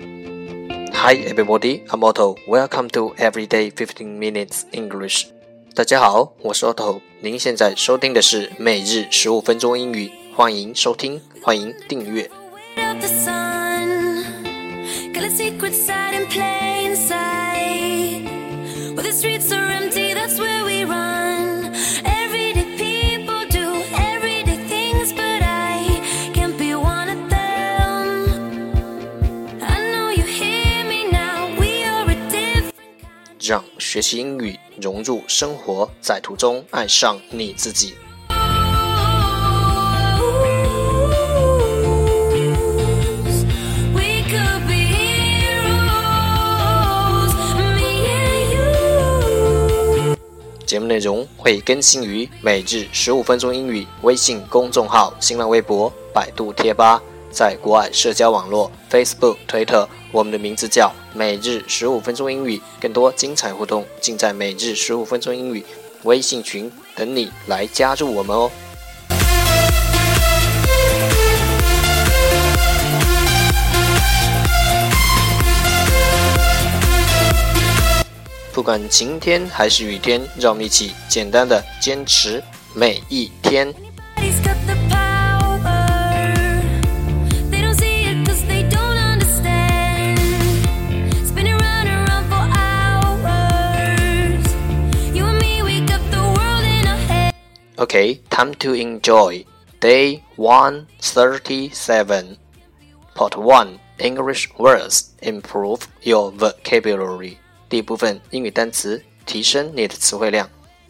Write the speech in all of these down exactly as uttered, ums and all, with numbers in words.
Hi everybody, I'm Otto. Welcome to Everyday fifteen minutes English. 大家好，我是 Otto。您现在收听的是每日十五分钟英语，欢迎收听，欢迎订阅。让学习英语融入生活，在途中爱上你自己。节目内容会更新于每日十五分钟英语微信公众号、新浪微博、百度贴吧，在国外社交网络 Facebook、推特，我们的名字叫每日十五分钟英语，更多精彩互动尽在每日十五分钟英语微信群，等你来加入我们哦。不管晴天还是雨天，让我们一起简单的坚持每一天。Okay, time to enjoy. Day one thirty-seven. Part one, English words. Improve your vocabulary. 第一部分英语单词，提升你的词汇量。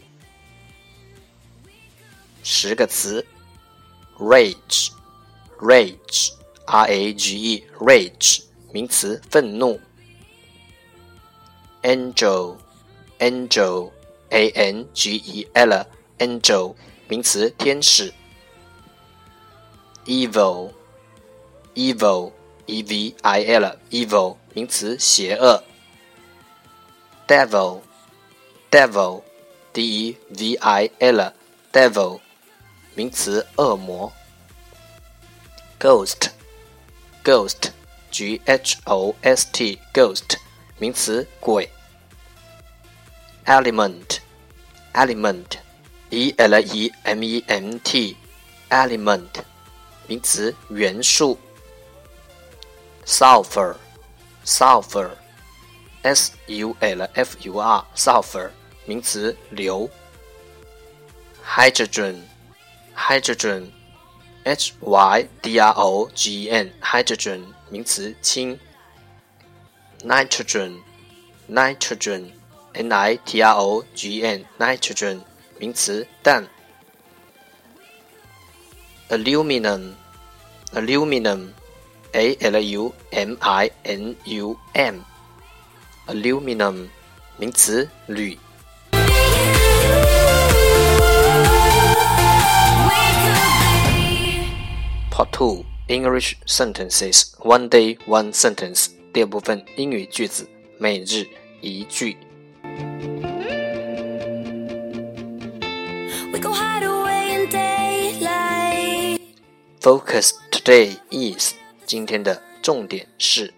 十个词 Rage, Rage, R A G E, Rage, 名词，愤怒。Angel, Angel, A N G E L, Angel, 名词，天使。Evil, Evil, E V I L, Evil, 名词，邪恶。Devil, Devil, D E V I L, Devil, 名词，恶魔。Ghost, Ghost, G H O S T, Ghost, 名词，鬼。Element, Element, E L E M E N T, Element, 名词，元素。Sulfur, Sulfur, S U L F U R, Sulfur, 名词，硫。Hydrogen, Hydrogen, H Y D R O G E N, Hydrogen, 名词，氢。Nitrogen, Nitrogen, N I T R O G E N, Nitrogen, 名词，氮。Aluminum, Aluminum, A L U M I N U M, Aluminum, 名词，铝。Part two, English sentences, one day, one sentence. 第二部分英语句子，每日一句。Focus today is, 今天的重点是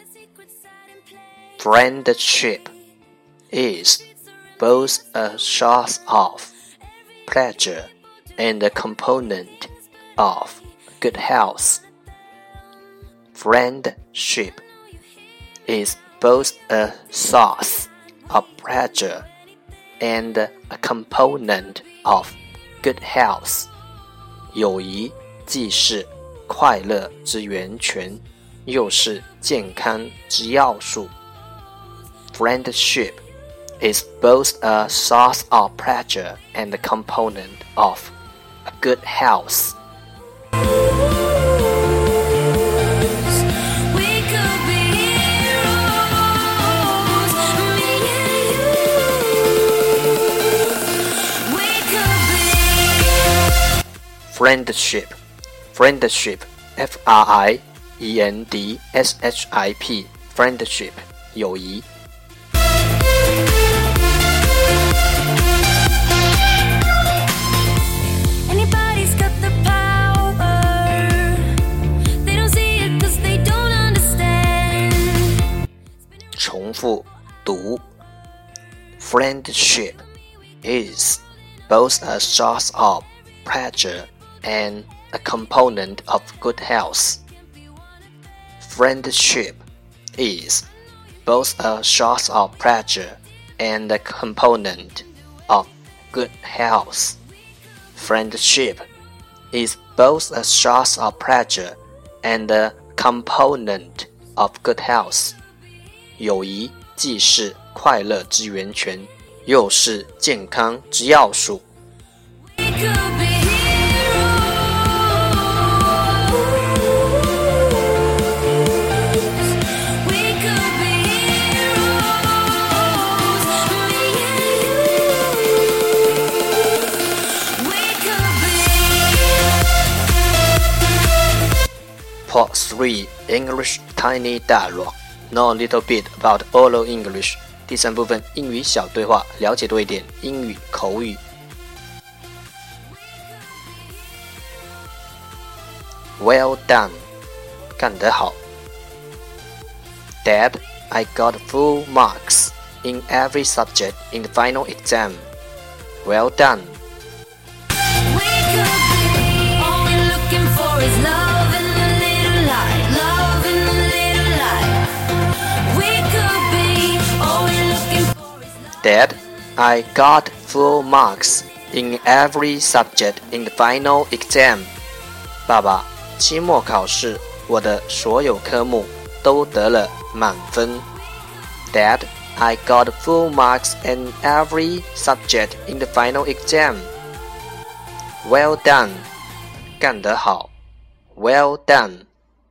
Friendship is both a source of pleasure and a component of good health. Friendship is both a source of pleasure and a component of good health. 友谊既是快乐之源泉，又是健康之要素。Friendship is both a source of pleasure and a component of a good health. Friendship, friendship, F R I E N D S H I P, friendship, 友谊。 Anybody's got the power, they don't see it 'cause they don't understand. 重复读。Friendship is both a source of pleasure and a component of good health. Friendship is both a source of pleasure and a component of good health. Friendship is both a source of pleasure and a component of good health. 友谊既是快乐之源泉，又是健康之要素。Part three English Tiny Dialogue. Know a little bit about oral English. 第三部分英语小对话，了解多一点英语口语。Well done. 干得好。Dad, I got full marks in every subject in the final exam. Well done. Dad, I got full marks in every subject in the final exam. 爸爸，期末考试我的所有科目都得了满分。Dad, I got full marks in every subject in the final exam. Well done. 干得好。Well done.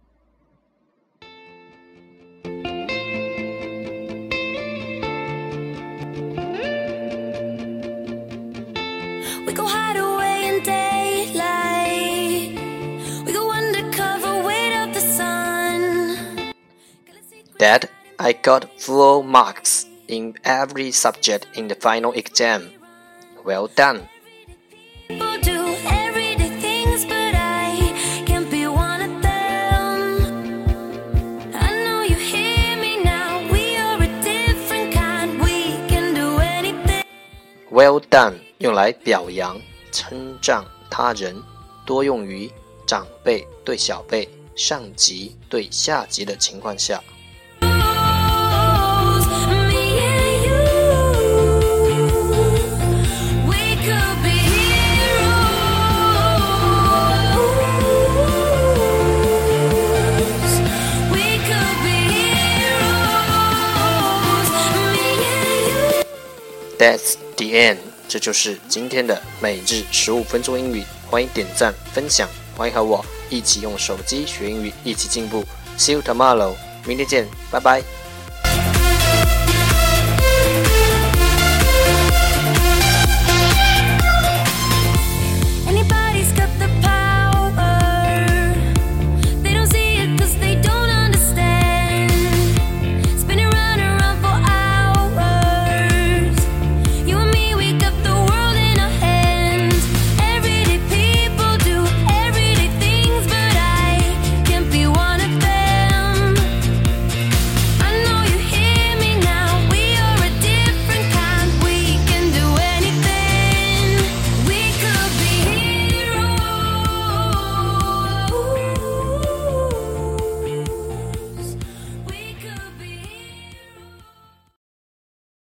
We go hide away in daylight. We go undercover, wait out the sun. Dad, I got full marks in every subject in the final exam. Well done. People do everyday things, but I can't be one of them. I know you hear me now. We are a different kind. We can do anything. Well done 用来表扬、称赞他人，多用于长辈对小辈、上级对下级的情况下。That's the end. 这就是今天的每日十五分钟英语，欢迎点赞分享，欢迎和我一起用手机学英语，一起进步。See you tomorrow. 明天见，拜拜。